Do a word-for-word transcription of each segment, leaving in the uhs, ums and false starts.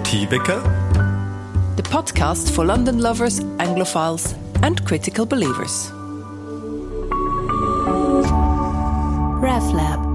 Demokratiewecker, the podcast for London lovers, Anglophiles and critical believers. RevLab.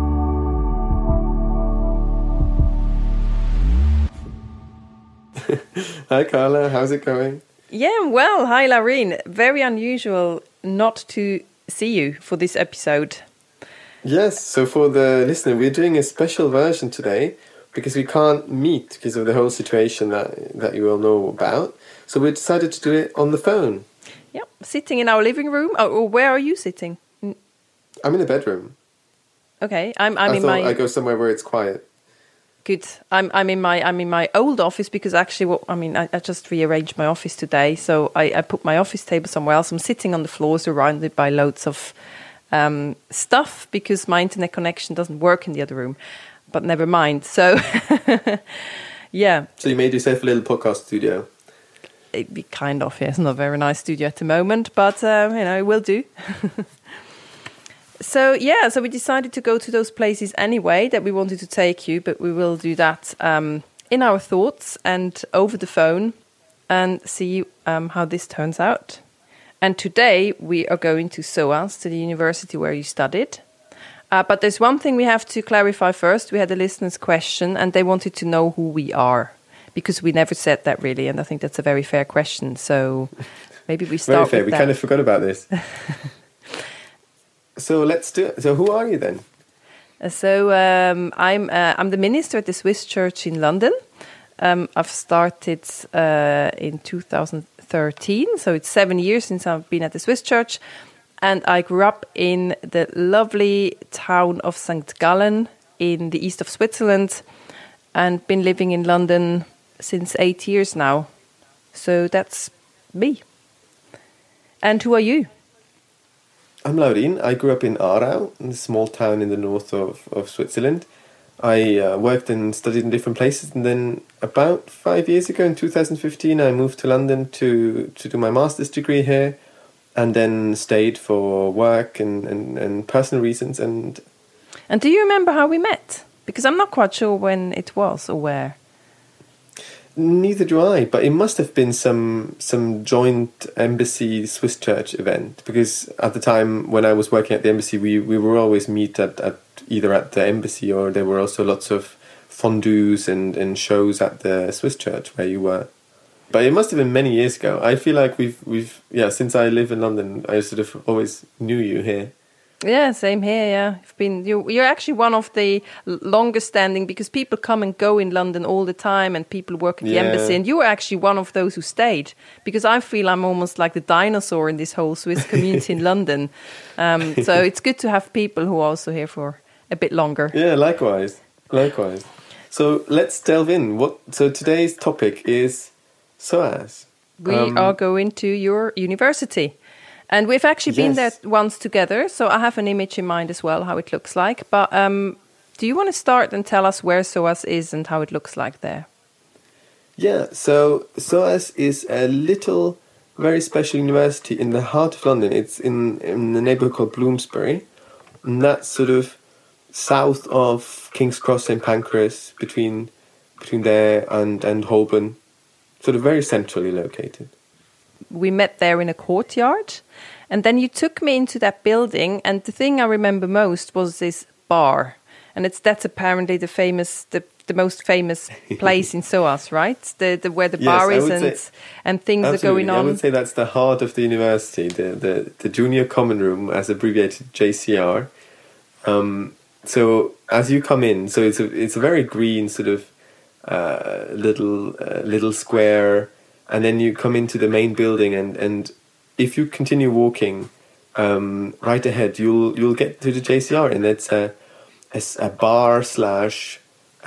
Hi Carla, how's it going? Yeah, well, hi Laureen. Very unusual not to see you for this episode. Yes, so for the listener, we're doing a special version today because we can't meet because of the whole situation that that you all know about. So we decided to do it on the phone. Yeah, sitting in our living room. Oh, or where are you sitting? I'm in the bedroom. Okay, I'm I'm I in thought my. I go somewhere where it's quiet. Good. I'm I'm in my I'm in my old office because actually, what I mean, I, I just rearranged my office today, so I, I put my office table somewhere else. I'm sitting on the floor, surrounded by loads of um, stuff because my internet connection doesn't work in the other room. But never mind. So, yeah. So you made yourself a little podcast studio. It'd be kind of, yeah. It's not a very nice studio at the moment, but uh, you know, it will do. So yeah, so we decided to go to those places anyway that we wanted to take you, but we will do that um, in our thoughts and over the phone and see um, how this turns out. And today we are going to SOAS, to the university where you studied. Uh, but there's one thing we have to clarify first. We had a listener's question and they wanted to know who we are because we never said that really, and I think that's a very fair question. So maybe we start Very fair. with We that. kind of forgot about this. So let's do it. So who are you then? Uh, So um, I'm uh, I'm the minister at the Swiss Church in London. Um, I've started uh, in two thousand thirteen, so it's seven years since I've been at the Swiss Church. And I grew up in the lovely town of Saint Gallen in the east of Switzerland and been living in London since eight years now. So that's me. And who are you? I'm Laureen. I grew up in Aarau, a small town in the north of, of Switzerland. I uh, worked and studied in different places, and then about five years ago, in two thousand fifteen, I moved to London to, to do my master's degree here, and then stayed for work and, and, and personal reasons. And And do you remember how we met? Because I'm not quite sure when it was or where. neither do I, but it must have been some some joint embassy Swiss Church event, because at the time when I was working at the embassy, we, we were always meet at, at either at the embassy, or there were also lots of fondues and, and shows at the Swiss Church where you were. But it must have been many years ago. I feel like we've we've yeah, since I live in London, I sort of always knew you here. Yeah, same here. Yeah, you've been you. You're actually one of the longest standing, because people come and go in London all the time, and people work at the Yeah. embassy. And you were actually one of those who stayed, because I feel I'm almost like the dinosaur in this whole Swiss community in London. Um, so it's good to have people who are also here for a bit longer. Yeah, likewise, likewise. So let's delve in. What? So today's topic is SOAS. We Um, are going to your university. And we've actually been Yes. there once together, so I have an image in mind as well, how it looks like. But um, do you want to start and tell us where SOAS is and how it looks like there? Yeah, so SOAS is a little, very special university in the heart of London. It's in, in the neighbourhood called Bloomsbury, and that's sort of south of King's Cross, Saint Pancras, between between there and, and Holborn, sort of very centrally located. We met there in a courtyard, and then you took me into that building, and the thing I remember most was this bar, and it's that's apparently the famous, the, the most famous place in SOAS, right? The, the where the Yes, bar I is would and say- and things Absolutely. are going on. I would say that's the heart of the university, the, the, the Junior Common Room, as abbreviated J C R. Um, so as you come in, so it's a, it's a very green sort of uh, little uh, little square, and then you come into the main building, and, and if you continue walking um, right ahead, you'll you'll get to the J C R, and it's a a, a bar slash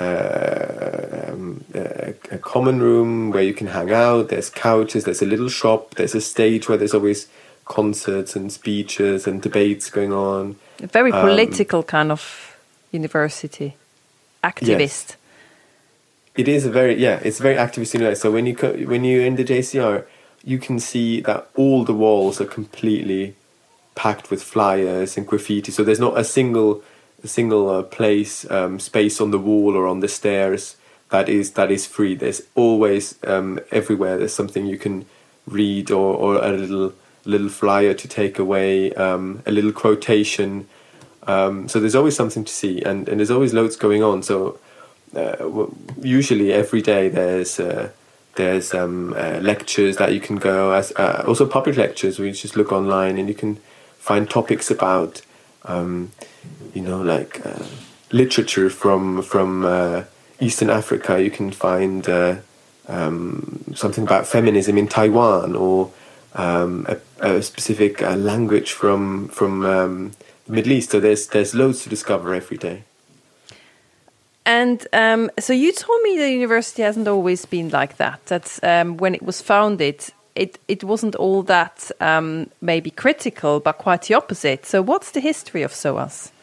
uh, um, a, a common room where you can hang out. There's couches, there's a little shop, there's a stage where there's always concerts and speeches and debates going on. A very Um, political kind of university, activist. It is a very yeah, it's a very activist university. So when you co- when you're in the J C R, you can see that all the walls are completely packed with flyers and graffiti. So there's not a single a single uh, place um, space on the wall or on the stairs that is that is free. There's always um, everywhere there's something you can read, or, or a little little flyer to take away, um, a little quotation. Um, so there's always something to see, and, and there's always loads going on. So uh, usually every day there's uh, there's um, uh, lectures that you can go, as uh, also public lectures where you just look online and you can find topics about um, you know like uh, literature from from uh, Eastern Africa. You can find uh, um, something about feminism in Taiwan, or um, a, a specific uh, language from from um, the Middle East. So there's there's loads to discover every day. And um, so you told me the university hasn't always been like that. That's um, when it was founded, it, it wasn't all that um, maybe critical, but quite the opposite. So what's the history of SOAS?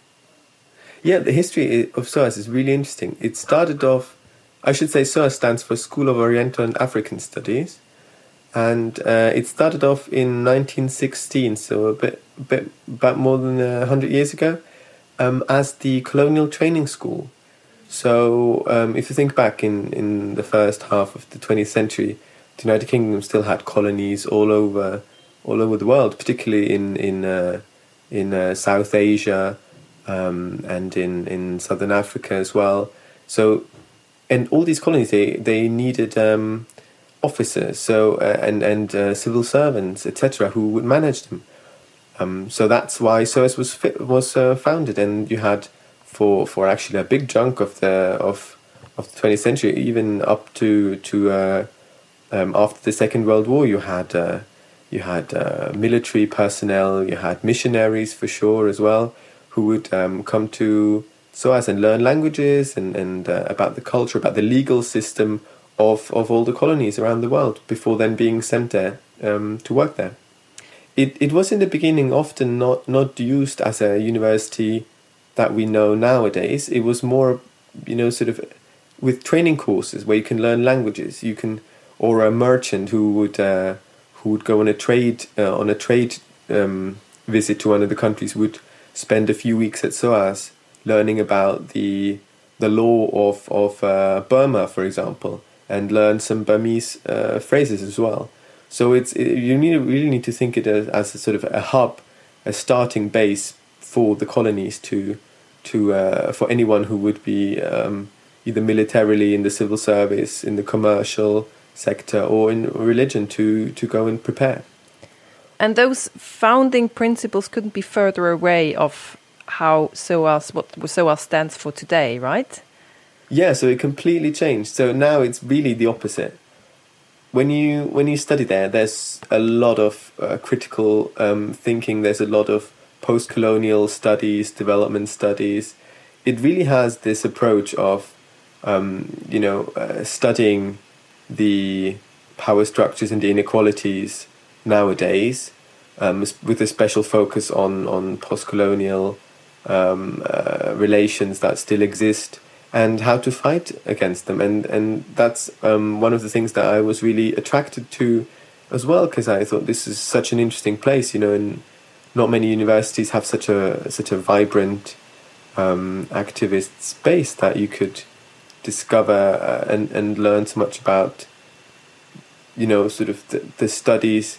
Yeah, the history of SOAS is really interesting. It started off, I should say SOAS stands for School of Oriental and African Studies. And uh, it started off in nineteen sixteen, so a bit, bit about more than one hundred years ago, um, as the colonial training school. So um, if you think back in, in the first half of the twentieth century, the United Kingdom still had colonies all over all over the world, particularly in in uh, in uh, South Asia um, and in, in Southern Africa as well. So, and all these colonies, they they needed um, officers, so uh, and and uh, civil servants, et cetera, who would manage them. Um, so that's why SOAS was fi- was uh, founded, and you had. For, for actually a big chunk of the of of the twentieth century, even up to to uh, um, after the Second World War, you had uh, you had uh, military personnel, you had missionaries for sure as well, who would um, come to SOAS and learn languages and and uh, about the culture, about the legal system of of all the colonies around the world before then being sent there um, to work there. It it was in the beginning often not not used as a university that we know nowadays. It was more, you know, sort of with training courses where you can learn languages. You can, or a merchant who would uh, who would go on a trade uh, on a trade um, visit to one of the countries would spend a few weeks at SOAS learning about the the law of of uh, Burma, for example, and learn some Burmese uh, phrases as well. So it's it, you need really need to think it as, as a sort of a hub, a starting base for the colonies to, to uh, for anyone who would be um, either militarily in the civil service, in the commercial sector, or in religion to, to go and prepare. And those founding principles couldn't be further away of how SOAS, what SOAS stands for today, right? Yeah, so it completely changed. So now it's really the opposite. When you when you study there, there's a lot of uh, critical um, thinking. There's a lot of post-colonial studies, development studies. It really has this approach of, um, you know, uh, studying the power structures and the inequalities nowadays, um, with a special focus on on post-colonial um, uh, relations that still exist and how to fight against them. And and that's um, one of the things that I was really attracted to as well, because I thought this is such an interesting place, you know, and not many universities have such a such a vibrant um, activist space that you could discover uh, and and learn so much about, you know, sort of the, the studies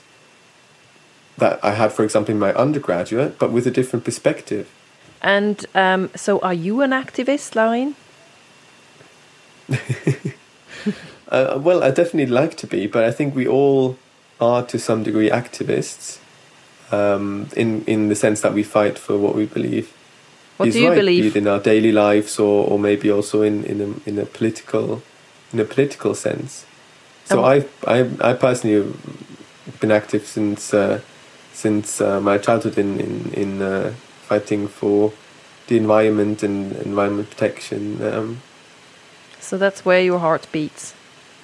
that I had, for example, in my undergraduate, but with a different perspective. And um, so, are you an activist, Laurin? uh, well, I definitely like to be, but I think we all are to some degree activists. Um, in, in the sense that we fight for what we believe what is do you right, believe? be it in our daily lives or, or maybe also in, in a in a political in a political sense. So um, I I I personally have been active since uh, since uh, my childhood in in in uh, fighting for the environment and environment protection. Um, so that's where your heart beats.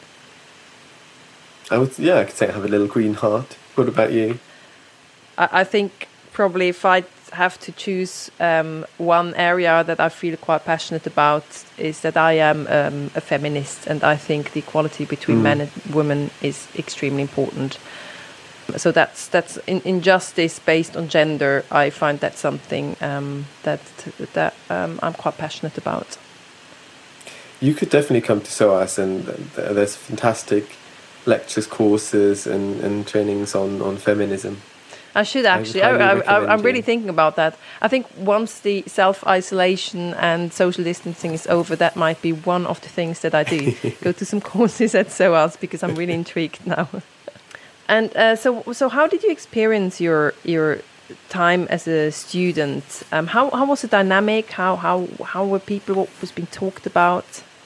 I would yeah I could say I have a little green heart. What about you? I think probably if I have to choose um, one area that I feel quite passionate about is that I am um, a feminist, and I think the equality between mm. men and women is extremely important. So that's that's in, injustice based on gender. I find that something um, that that um, I'm quite passionate about. you could definitely come to SOAS, and th- there's fantastic lectures, courses, and, and trainings on, on feminism. I should actually. I, I, I, I'm really thinking about that. I think once the self-isolation and social distancing is over, that might be one of the things that I do. Go to some courses at SOAS, because I'm really intrigued now. And uh, so, so how did you experience your your time as a student? Um, how how was the dynamic? How how how were people? What was being talked about?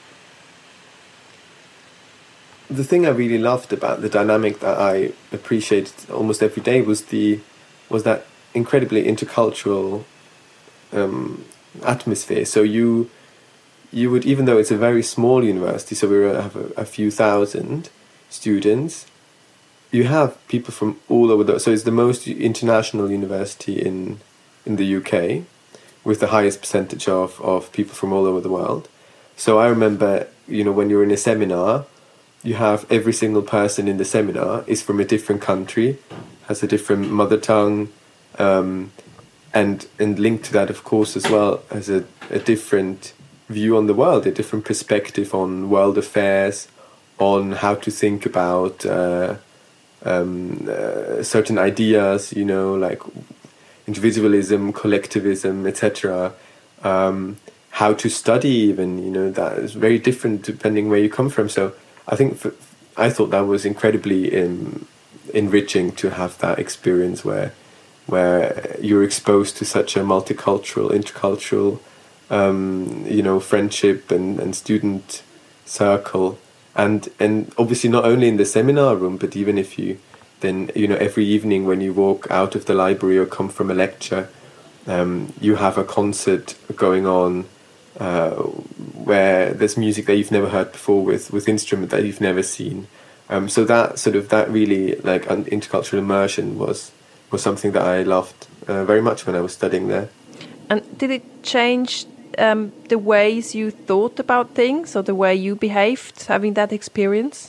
The thing I really loved about the dynamic that I appreciated almost every day was the was that incredibly intercultural um, atmosphere. So you you would, even though it's a very small university, so we have a, a few thousand students, you have people from all over the. So it's the most international university in in the U K, with the highest percentage of of people from all over the world. So I remember, you know, when you're in a seminar, you have every single person in the seminar is from a different country, has a different mother tongue, um, and and linked to that, of course, as well, as a, a different view on the world, a different perspective on world affairs, on how to think about uh, um, uh, certain ideas, you know, like individualism, collectivism, et cetera. Um, how to study, even, you know, that is very different depending where you come from. So I think for, I thought that was incredibly um, enriching to have that experience where where you're exposed to such a multicultural, intercultural, um, you know, friendship and, and student circle, and and obviously not only in the seminar room, but even if you then, you know, every evening when you walk out of the library or come from a lecture, um, you have a concert going on. Uh, where there's music that you've never heard before, with with instrument that you've never seen, um, so that sort of that really like an intercultural immersion was was something that I loved uh, very much when I was studying there. And did it change um, the ways you thought about things, or the way you behaved, having that experience?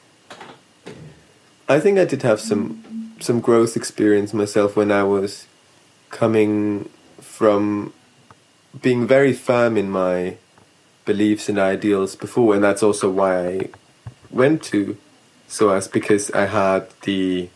I think I did have some some growth experience myself when I was coming from being very firm in my beliefs and ideals before, and that's also why I went to SOAS, because I had the,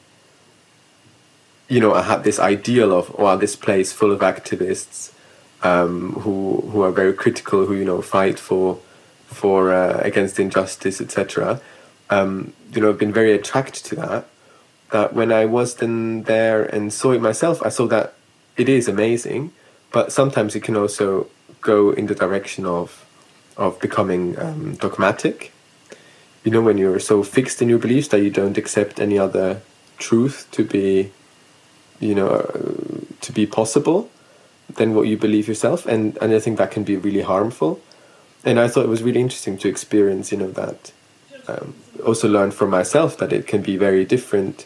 you know, I had this ideal of, wow, this place full of activists um, who who are very critical, who, you know, fight for for uh, against injustice, et cetera. Um, you know, I've been very attracted to that. That when I was then there and saw it myself, I saw that it is amazing. But sometimes it can also go in the direction of of becoming um, dogmatic. You know, when you're so fixed in your beliefs that you don't accept any other truth to be, you know, uh, to be possible than what you believe yourself. And, and I think that can be really harmful. And I thought it was really interesting to experience, you know, that. Um, also learn from myself that it can be very different,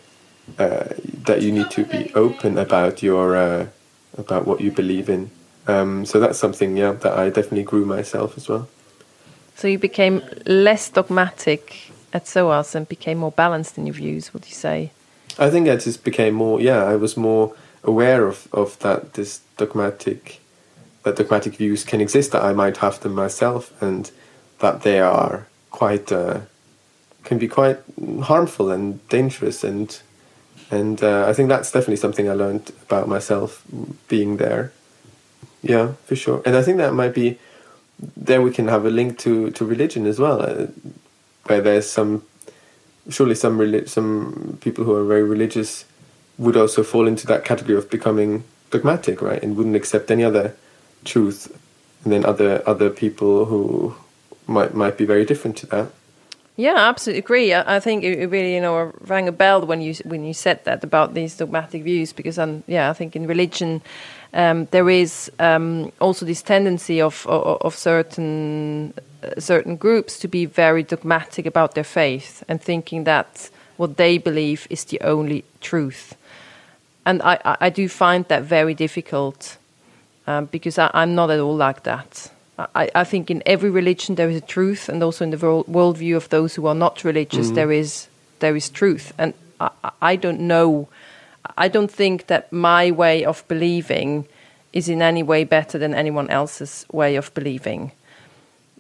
uh, that you need to be open about your... Uh, about what you believe in. Um, so that's something, yeah, that I definitely grew myself as well. So you became less dogmatic at SOAS and became more balanced in your views, would you say? I think I just became more, yeah, I was more aware of, of that this dogmatic, that dogmatic views can exist, that I might have them myself, and that they are quite, uh, can be quite harmful and dangerous, and And uh, I think that's definitely something I learned about myself being there. Yeah, for sure. And I think that might be, there we can have a link to, to religion as well, uh, where there's some, surely some relig- some people who are very religious would also fall into that category of becoming dogmatic, right? And wouldn't accept any other truth. And then other other people who might might be very different to that. Yeah, I absolutely agree. I, I think it really, you know, rang a bell when you when you said that about these dogmatic views, because, um, yeah, I think in religion um, there is um, also this tendency of of, of certain uh, certain groups to be very dogmatic about their faith and thinking that what they believe is the only truth. And I, I, I do find that very difficult um, because I, I'm not at all like that. I, I think in every religion there is a truth, and also in the world, worldview of those who are not religious, mm. there is there is truth. And I, I don't know, I don't think that my way of believing is in any way better than anyone else's way of believing. Uh,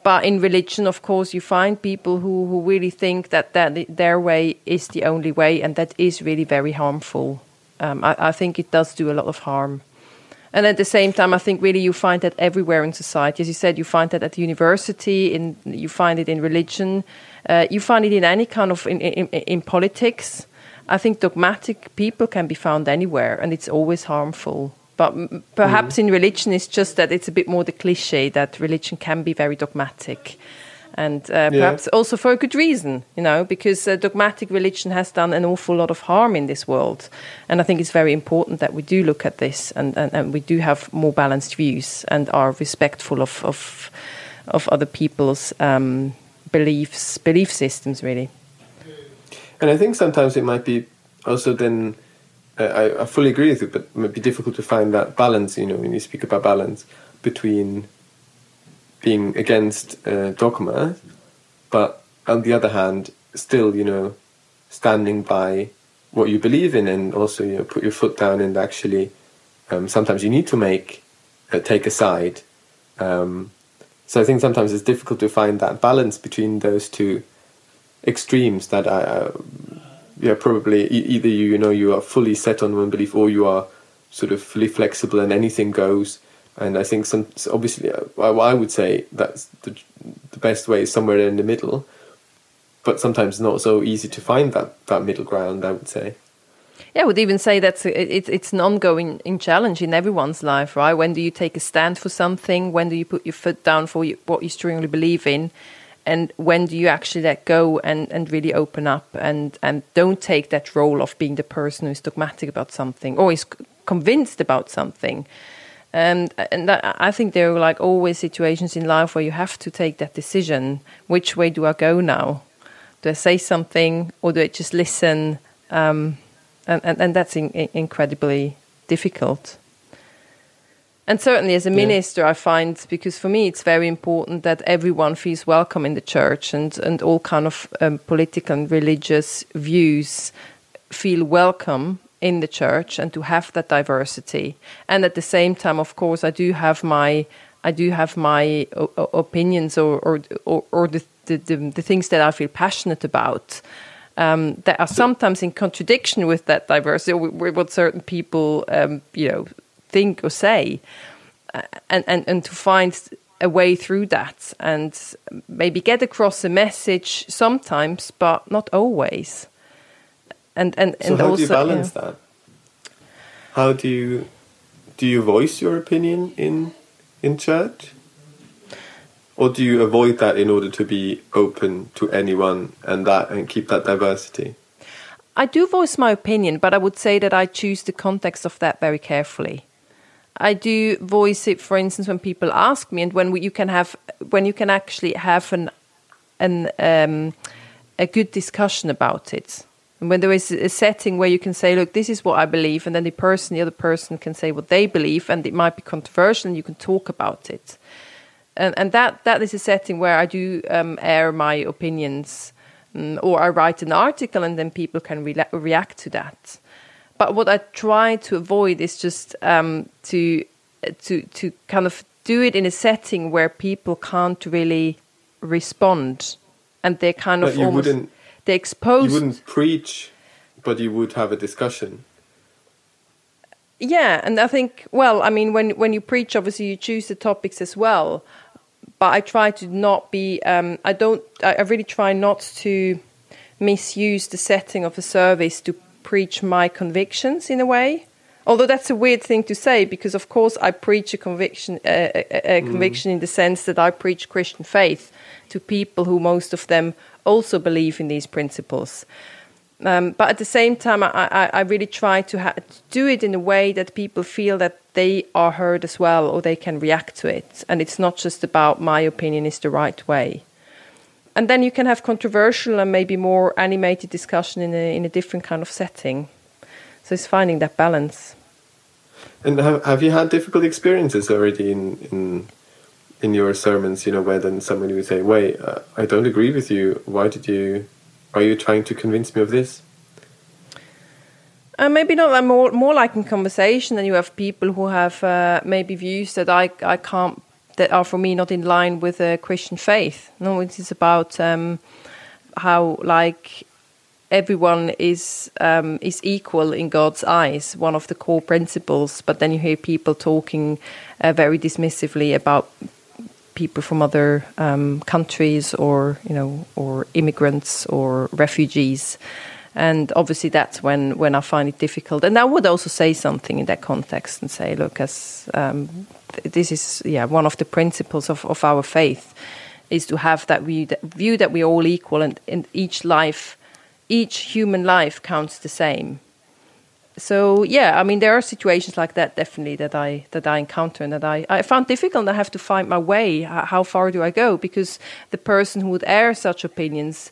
But in religion, of course, you find people who, who really think that, that their way is the only way, and that is really very harmful. Um, I, I think it does do a lot of harm. And at the same time, I think really you find that everywhere in society. As you said, you find that at the university, in, you find it in religion, uh, you find it in any kind of, in, in, in politics. I think dogmatic people can be found anywhere, and it's always harmful. But perhaps mm. in religion, it's just that it's a bit more the cliche that religion can be very dogmatic. And uh, perhaps yeah. also for a good reason, you know, because uh, dogmatic religion has done an awful lot of harm in this world. And I think it's very important that we do look at this and, and, and we do have more balanced views and are respectful of of, of other people's um, beliefs, belief systems, really. And I think sometimes it might be also then... Uh, I, I fully agree with you, but it might be difficult to find that balance, you know, when you speak about balance between being against uh, dogma, but on the other hand, still, you know, standing by what you believe in, and also, you know, put your foot down and actually, um, sometimes you need to make, uh, take a side. Um, so I think sometimes it's difficult to find that balance between those two extremes that I... Uh, Yeah, probably e- either you, you know, you are fully set on one belief, or you are sort of fully flexible and anything goes. And I think some, obviously, uh, I would say that's the, the best way is somewhere in the middle. But sometimes not so easy to find that, that middle ground, I would say. Yeah, I would even say that's it's it's an ongoing in challenge in everyone's life, right? When do you take a stand for something? When do you put your foot down for you, what you strongly believe in? And when do you actually let go and, and really open up and, and don't take that role of being the person who's dogmatic about something or is c- convinced about something? And, and that, I think there are like always situations in life where you have to take that decision. Which way do I go now? Do I say something or do I just listen? Um, and, and, and that's in, in incredibly difficult. And certainly as a minister, yeah. I find, because for me it's very important that everyone feels welcome in the church, and, and all kind of um, political and religious views feel welcome in the church, and to have that diversity. And at the same time, of course, I do have my I do have my o- opinions or or or, or the, the, the the things that I feel passionate about. Um, that are sometimes in contradiction with that diversity, or with what certain people, um, you know, think or say, uh, and, and, and to find a way through that and maybe get across a message sometimes, but not always. And and, so and how also, do you balance yeah. that? How do you do you voice your opinion in in church? Or do you avoid that in order to be open to anyone and that and keep that diversity? I do voice my opinion, but I would say that I choose the context of that very carefully. I do voice it, for instance, when people ask me, and when we, you can have, when you can actually have an, an um, a good discussion about it. And when there is a setting where you can say, "Look, this is what I believe," and then the person, the other person, can say what they believe, and it might be controversial, and you can talk about it. And, and that that is a setting where I do um, air my opinions, um, or I write an article, and then people can re- react to that. But what I try to avoid is just um, to to to kind of do it in a setting where people can't really respond, and they're kind but of you almost wouldn't, they're exposed. You wouldn't preach, but you would have a discussion. Yeah, and I think, well, I mean, when when you preach, obviously you choose the topics as well. But I try to not be. Um, I don't. I, I really try not to misuse the setting of a service to preach my convictions in a way. Although that's a weird thing to say, because of course I preach a conviction, uh, a, a conviction mm. in the sense that I preach Christian faith to people who most of them also believe in these principles. Um, but at the same time, I, I, I really try to ha- do it in a way that people feel that they are heard as well, or they can react to it. And it's not just about my opinion is the right way. And then you can have controversial and maybe more animated discussion in a in a different kind of setting. So it's finding that balance. And have have you had difficult experiences already in in in your sermons? You know, where then somebody would say, "Wait, uh, I don't agree with you. Why did you? Are you trying to convince me of this?" Uh, maybe not like more more like in conversation, and you have people who have uh, maybe views that I I can't that are for me not in line with the Christian faith. No, it is about um, how like everyone is um, is equal in God's eyes, one of the core principles. But then you hear people talking uh, very dismissively about people from other um, countries, or you know, or immigrants or refugees. And obviously that's when, when I find it difficult. And I would also say something in that context and say, look, as um, th- this is yeah one of the principles of, of our faith, is to have that view that, view that we're all equal, and, and each life, each human life counts the same. So yeah, I mean, there are situations like that definitely that I that I encounter and that I, I found difficult, and I have to find my way. How far do I go? Because the person who would air such opinions,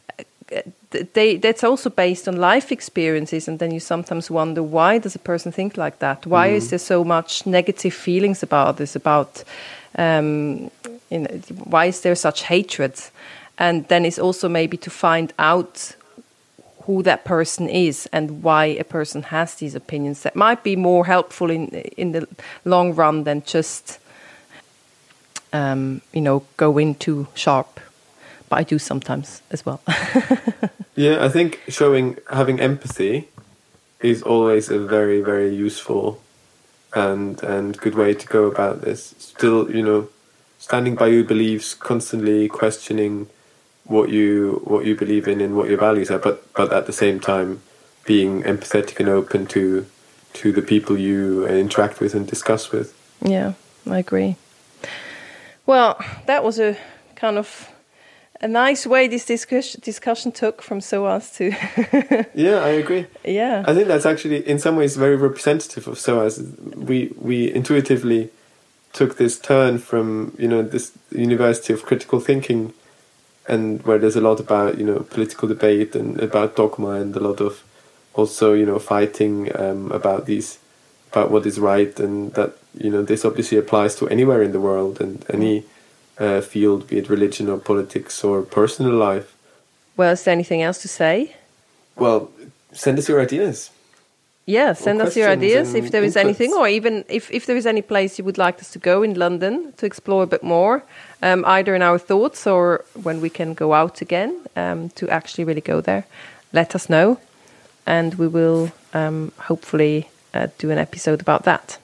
They, that's also based on life experiences, and then you sometimes wonder, why does a person think like that? Why mm. is there so much negative feelings about this? About um, you know, why is there such hatred? And then it's also maybe to find out who that person is and why a person has these opinions. That might be more helpful in in the long run than just um, you know go in too sharp. But I do sometimes as well. Yeah, I think showing, having empathy is always a very, very useful and and good way to go about this. Still, you know, standing by your beliefs, constantly questioning what you what you believe in and what your values are, but but at the same time being empathetic and open to to the people you interact with and discuss with. Yeah, I agree. Well, that was a kind of a nice way this discuss- discussion took from SOAS to... Yeah, I agree. Yeah. I think that's actually, in some ways, very representative of SOAS. We we intuitively took this turn from, you know, this University of Critical Thinking, and where there's a lot about, you know, political debate and about dogma, and a lot of also, you know, fighting um, about these, about what is right, and that, you know, this obviously applies to anywhere in the world and any... Uh, field, be it religion or politics or personal life. Well, is there anything else to say? Well, send us your ideas. Yeah, send us your ideas if there is inputs. Anything, or even if, if there is any place you would like us to go in London to explore a bit more, um, either in our thoughts or when we can go out again um, to actually really go there. Let us know, and we will um, hopefully uh, do an episode about that.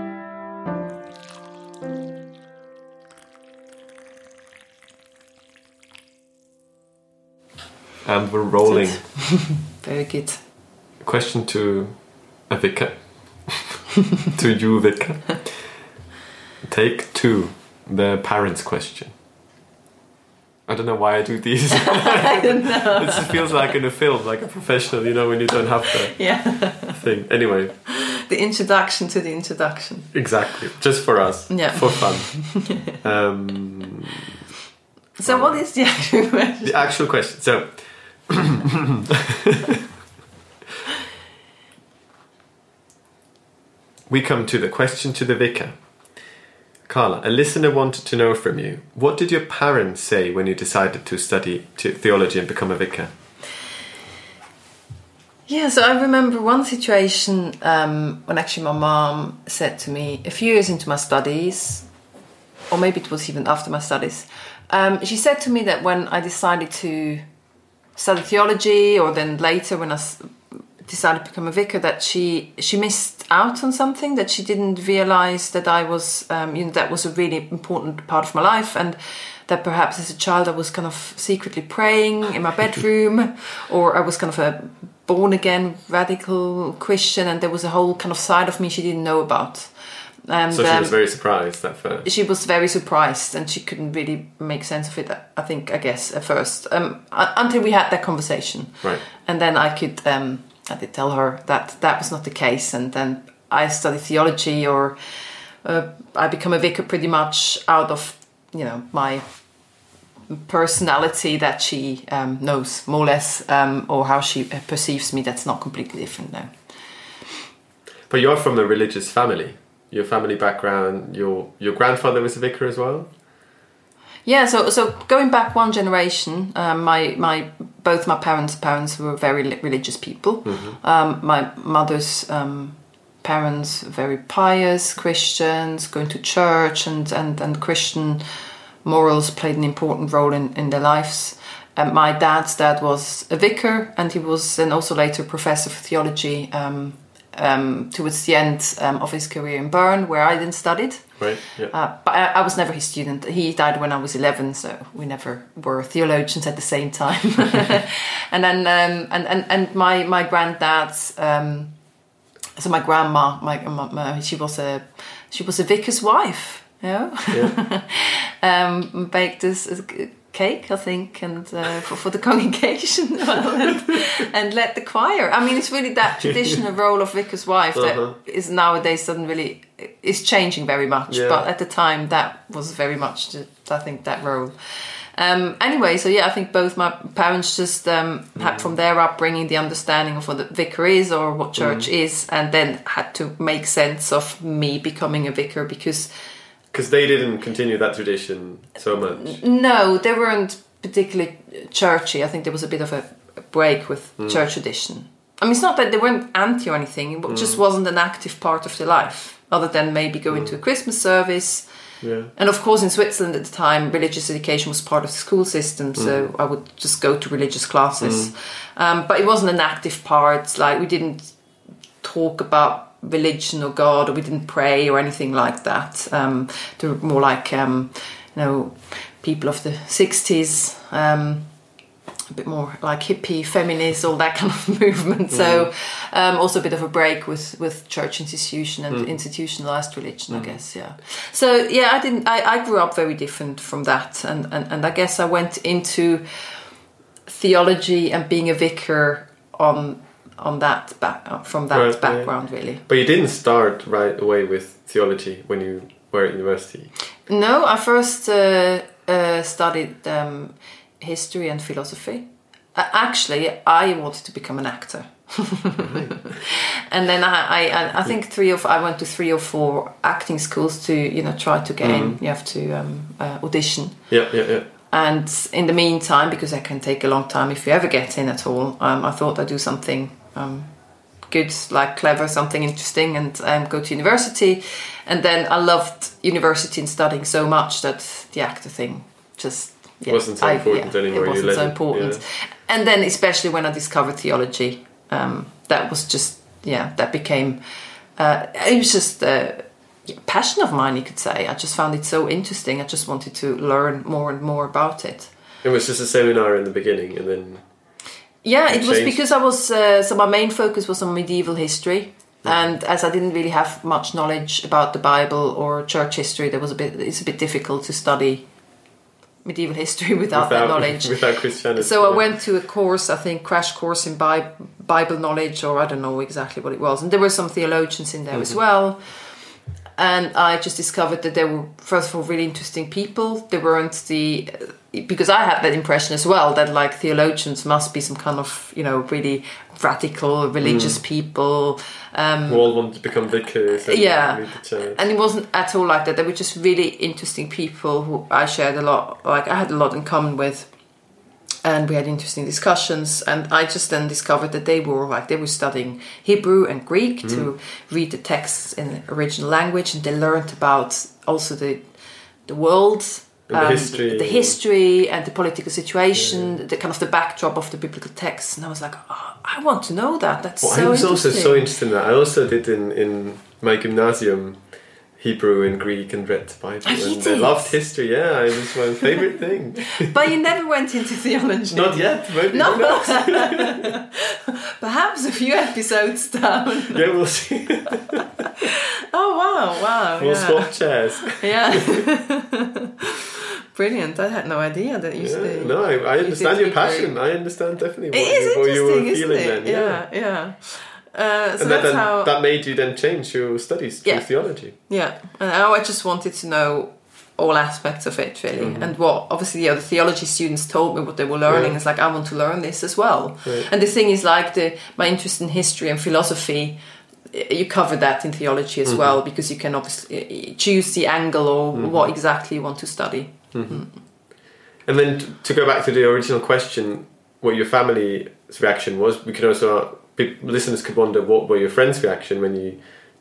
And we're rolling. Very good. Question to a vicar. To you, vicar. Take two. The parents' question. I don't know why I do these. I don't know. It feels like in a film, like a professional, you know, when you don't have the yeah. thing. Anyway. The introduction to the introduction. Exactly. Just for us. Yeah. For fun. um, so what is the actual question? The actual question. So... We come to the question to the vicar. Carla, a listener wanted to know from you, what did your parents say when you decided to study theology and become a vicar? Yeah, so I remember one situation um, when actually my mom said to me, a few years into my studies, or maybe it was even after my studies, um, she said to me that when I decided to study theology, or then later when I decided to become a vicar, that she she missed out on something, that she didn't realise that I was, um, you know, that was a really important part of my life, and that perhaps as a child I was kind of secretly praying in my bedroom, or I was kind of a born-again radical Christian, and there was a whole kind of side of me she didn't know about. And, so she um, was very surprised at first. She was very surprised, and she couldn't really make sense of it, I think, I guess, at first, um, until we had that conversation. Right. And then I could, um, I did tell her that that was not the case, and then I studied theology, or uh, I become a vicar pretty much out of, you know, my personality that she um, knows, more or less, um, or how she perceives me. That's not completely different now. But you're from a religious family. Your family background, your your grandfather was a vicar as well? Yeah, so so going back one generation, um, my my both my parents' parents were very religious people. Mm-hmm. Um, my mother's um, parents very pious Christians, going to church, and, and, and Christian morals played an important role in, in their lives. Um, my dad's dad was a vicar, and he was then also later professor for theology um, um, towards the end um, of his career in Bern, where I then studied. Right. Yeah. Uh, but I, I was never his student. He died when I was eleven, so we never were theologians at the same time. and then, um, and, and and my my granddad's, um, so my grandma, my, my she was a she was a vicar's wife. You know? Yeah. um, baked this. this cake, I think, and uh, for, for the congregation, well, and, and led the choir. I mean, it's really that traditional role of vicar's wife that uh-huh. is nowadays doesn't really is changing very much. Yeah. But at the time, that was very much, I think, that role. Um, anyway, so yeah, I think both my parents just um, mm. had from their upbringing the understanding of what the vicar is or what church mm. is, and then had to make sense of me becoming a vicar because. Because they didn't continue that tradition so much. No, they weren't particularly churchy. I think there was a bit of a break with mm. church tradition. I mean, it's not that they weren't anti or anything. It mm. just wasn't an active part of their life, other than maybe going mm. to a Christmas service. Yeah. And of course, in Switzerland at the time, religious education was part of the school system, so mm. I would just go to religious classes. Mm. Um, but it wasn't an active part. Like, we didn't talk about religion or God, or we didn't pray or anything like that. Um, they were more like, um, you know, people of the sixties, um, a bit more like hippie, feminist, all that kind of movement. Mm. So um, also a bit of a break with, with church institution and mm. institutionalized religion, mm. I guess, yeah. So yeah, I didn't. I, I grew up very different from that, and, and, and I guess I went into theology and being a vicar on. on that back from that right, background yeah. really. But you didn't start right away with theology when you were at university? No, I first uh, uh, studied um, history and philosophy. Uh, actually, I wanted to become an actor. And then I, I, I think three or four, I went to three or four acting schools to, you know, try to get mm. in. You have to um, uh, audition. Yeah, yeah, yeah. And in the meantime, because it can take a long time if you ever get in at all, um, I thought I'd do something um, good, like clever, something interesting, and um, go to university. And then I loved university and studying so much that the actor thing just yeah, wasn't so I, important yeah, anymore. It wasn't so important. Yeah. And then especially when I discovered theology, um, that was just yeah, that became uh, it was just a passion of mine, you could say. I just found it so interesting. I just wanted to learn more and more about it. It was just a seminar in the beginning, and then. Yeah, it, it was because I was, uh, so my main focus was on medieval history. Yeah. And as I didn't really have much knowledge about the Bible or church history, there was a bit, it's a bit difficult to study medieval history without, without that knowledge. Without Christianity. So yeah. I went to a course, I think, crash course in Bi- Bible knowledge, or I don't know exactly what it was. And there were some theologians in there mm-hmm. as well. And I just discovered that they were, first of all, really interesting people. They weren't the... Because I had that impression as well, that like theologians must be some kind of, you know, really radical, religious mm. people. Um, who all want to become vicars. And yeah. lead the church. And it wasn't at all like that. They were just really interesting people who I shared a lot, like I had a lot in common with. And we had interesting discussions. And I just then discovered that they were like, they were studying Hebrew and Greek mm. to read the texts in the original language. And they learned about also the the world. The um, history, the history and the political situation, yeah. the kind of the backdrop of the biblical text, and I was like, oh, I want to know that. That's well, so. I was also so interested in that. I also did in, in my gymnasium Hebrew and Greek and read the Bible, oh, and did? I loved history. Yeah, it was my favorite thing. But you never went into theology. Not yet. Maybe no. not. Perhaps a few episodes down. Yeah, we'll see. Oh wow! Wow. We'll yeah. swap chairs. Yeah. Brilliant! I had no idea that you. Yeah, stay, no, I, I understand your passion. I understand definitely what, it is you, what you were feeling it? then. Yeah, yeah. yeah. Uh, so and that's that, then, how that made you then change your studies to yeah. theology. Yeah, and now I just wanted to know all aspects of it really, mm-hmm. and what obviously the other theology students told me what they were learning. Yeah. It's like I want to learn this as well. Right. And the thing is, like the my interest in history and philosophy. You cover that in theology as mm-hmm. well, because you can obviously choose the angle or mm-hmm. what exactly you want to study. Mm-hmm. Mm. And then t- to go back to the original question, what your family's reaction was, we can also, listeners could wonder what were your friends' reaction when you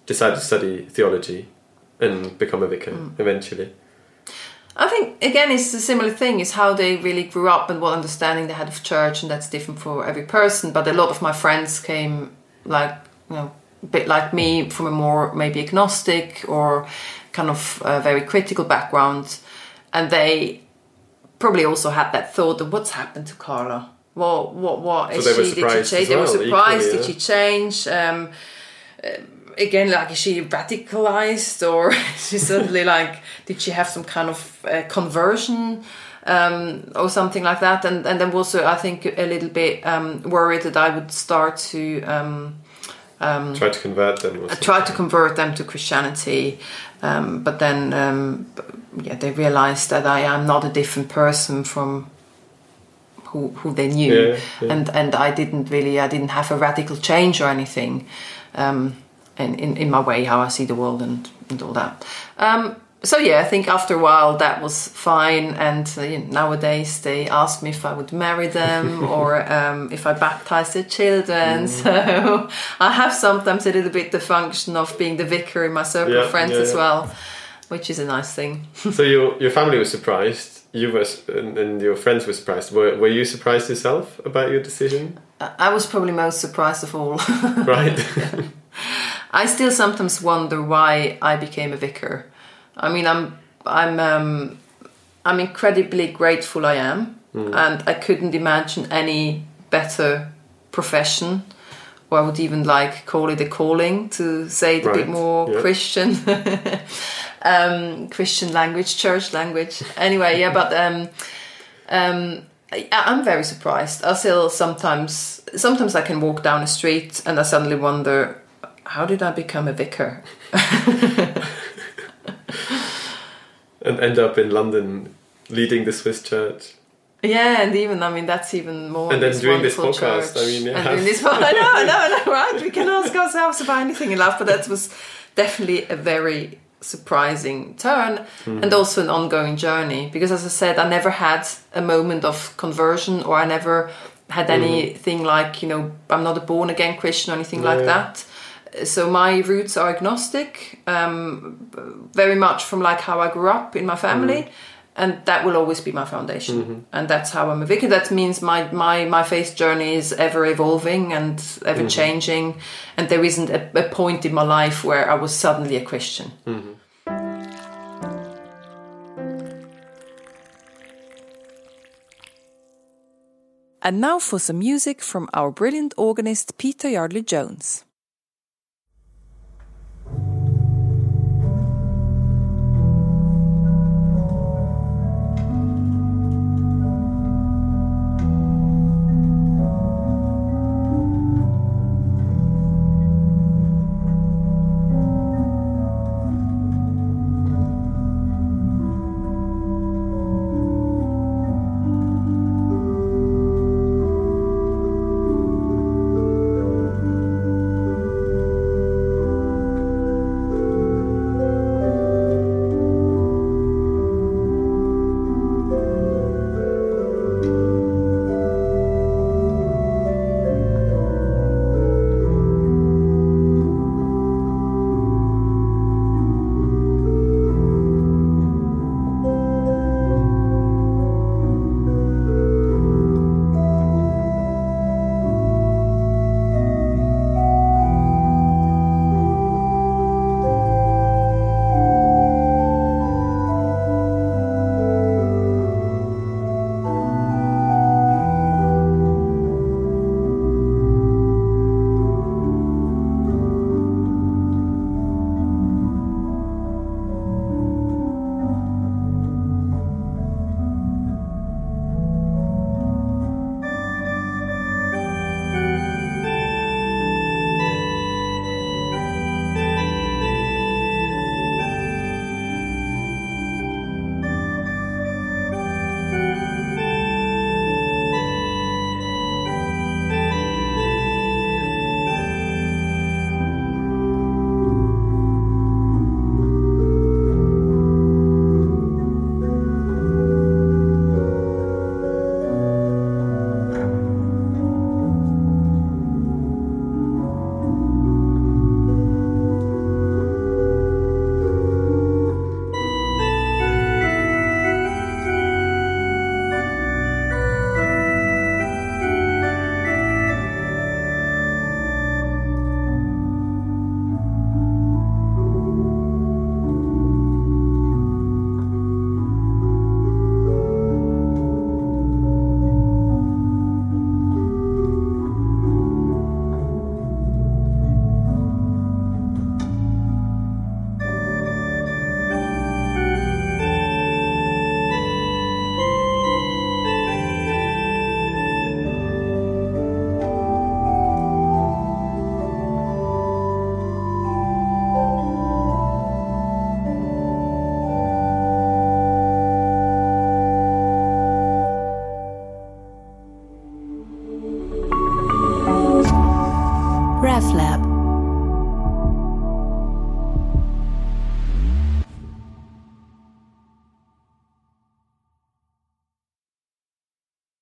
decide to study theology and become a vicar mm. eventually? I think, again, it's a similar thing. It's how they really grew up and what understanding they had of church, and that's different for every person. But a lot of my friends came, like, you know, a bit like me, from a more maybe agnostic or kind of uh, very critical background. And they probably also had that thought of what's happened to Carla? What, what, what is so she? Did she change? They well, were surprised. Equally, yeah. Did she change? Um, uh, Again, like, is she radicalized, or is she suddenly like, did she have some kind of uh, conversion um, or something like that? And and then also, I think, a little bit um, worried that I would start to um, um, try to convert them. I try to convert them to Christianity, um, but then um, yeah, they realized that I am not a different person from who who they knew, yeah, yeah. and and I didn't really, I didn't have a radical change or anything. Um, And in, in my way, how I see the world and, and all that. Um, so yeah, I think after a while that was fine. And uh, you know, nowadays they ask me if I would marry them or um, if I baptize their children. Mm. So I have sometimes a little bit the function of being the vicar in my circle yeah, of friends yeah, as yeah. well, which is a nice thing. So your your family was surprised. You were, and, and your friends were surprised. Were Were you surprised yourself about your decision? I was probably most surprised of all. Right. I still sometimes wonder why I became a vicar. I mean, I'm I'm um, I'm incredibly grateful I am, mm. and I couldn't imagine any better profession, or I would even like call it a calling, to say it right. a bit more yeah. Christian, um, Christian language, church language. Anyway, yeah, but um, um, I, I'm very surprised. I still sometimes sometimes I can walk down a street and I suddenly wonder, how did I become a vicar? And end up in London leading the Swiss church. Yeah, and even, I mean, that's even more. And then this doing this podcast, church. I mean, yeah. And doing this, I know, I know, I know, right? We can ask ourselves about anything in life, but that was definitely a very surprising turn mm. and also an ongoing journey. Because as I said, I never had a moment of conversion, or I never had anything mm. like, you know, I'm not a born again Christian or anything yeah. like that. So my roots are agnostic, um, very much from like how I grew up in my family, mm. and that will always be my foundation. Mm-hmm. And that's how I'm a vicar. That means my, my, my faith journey is ever evolving and ever mm-hmm. changing, and there isn't a, a point in my life where I was suddenly a Christian. Mm-hmm. And now for some music from our brilliant organist Peter Yardley Jones.